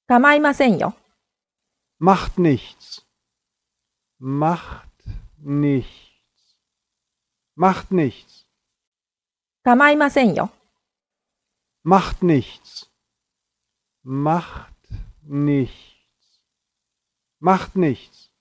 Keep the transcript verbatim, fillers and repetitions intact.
構いませんよ。 Macht nichts. Macht nichts. Macht nichts. 構いませんよ。 Macht nichts. Macht nichts. Macht nichts.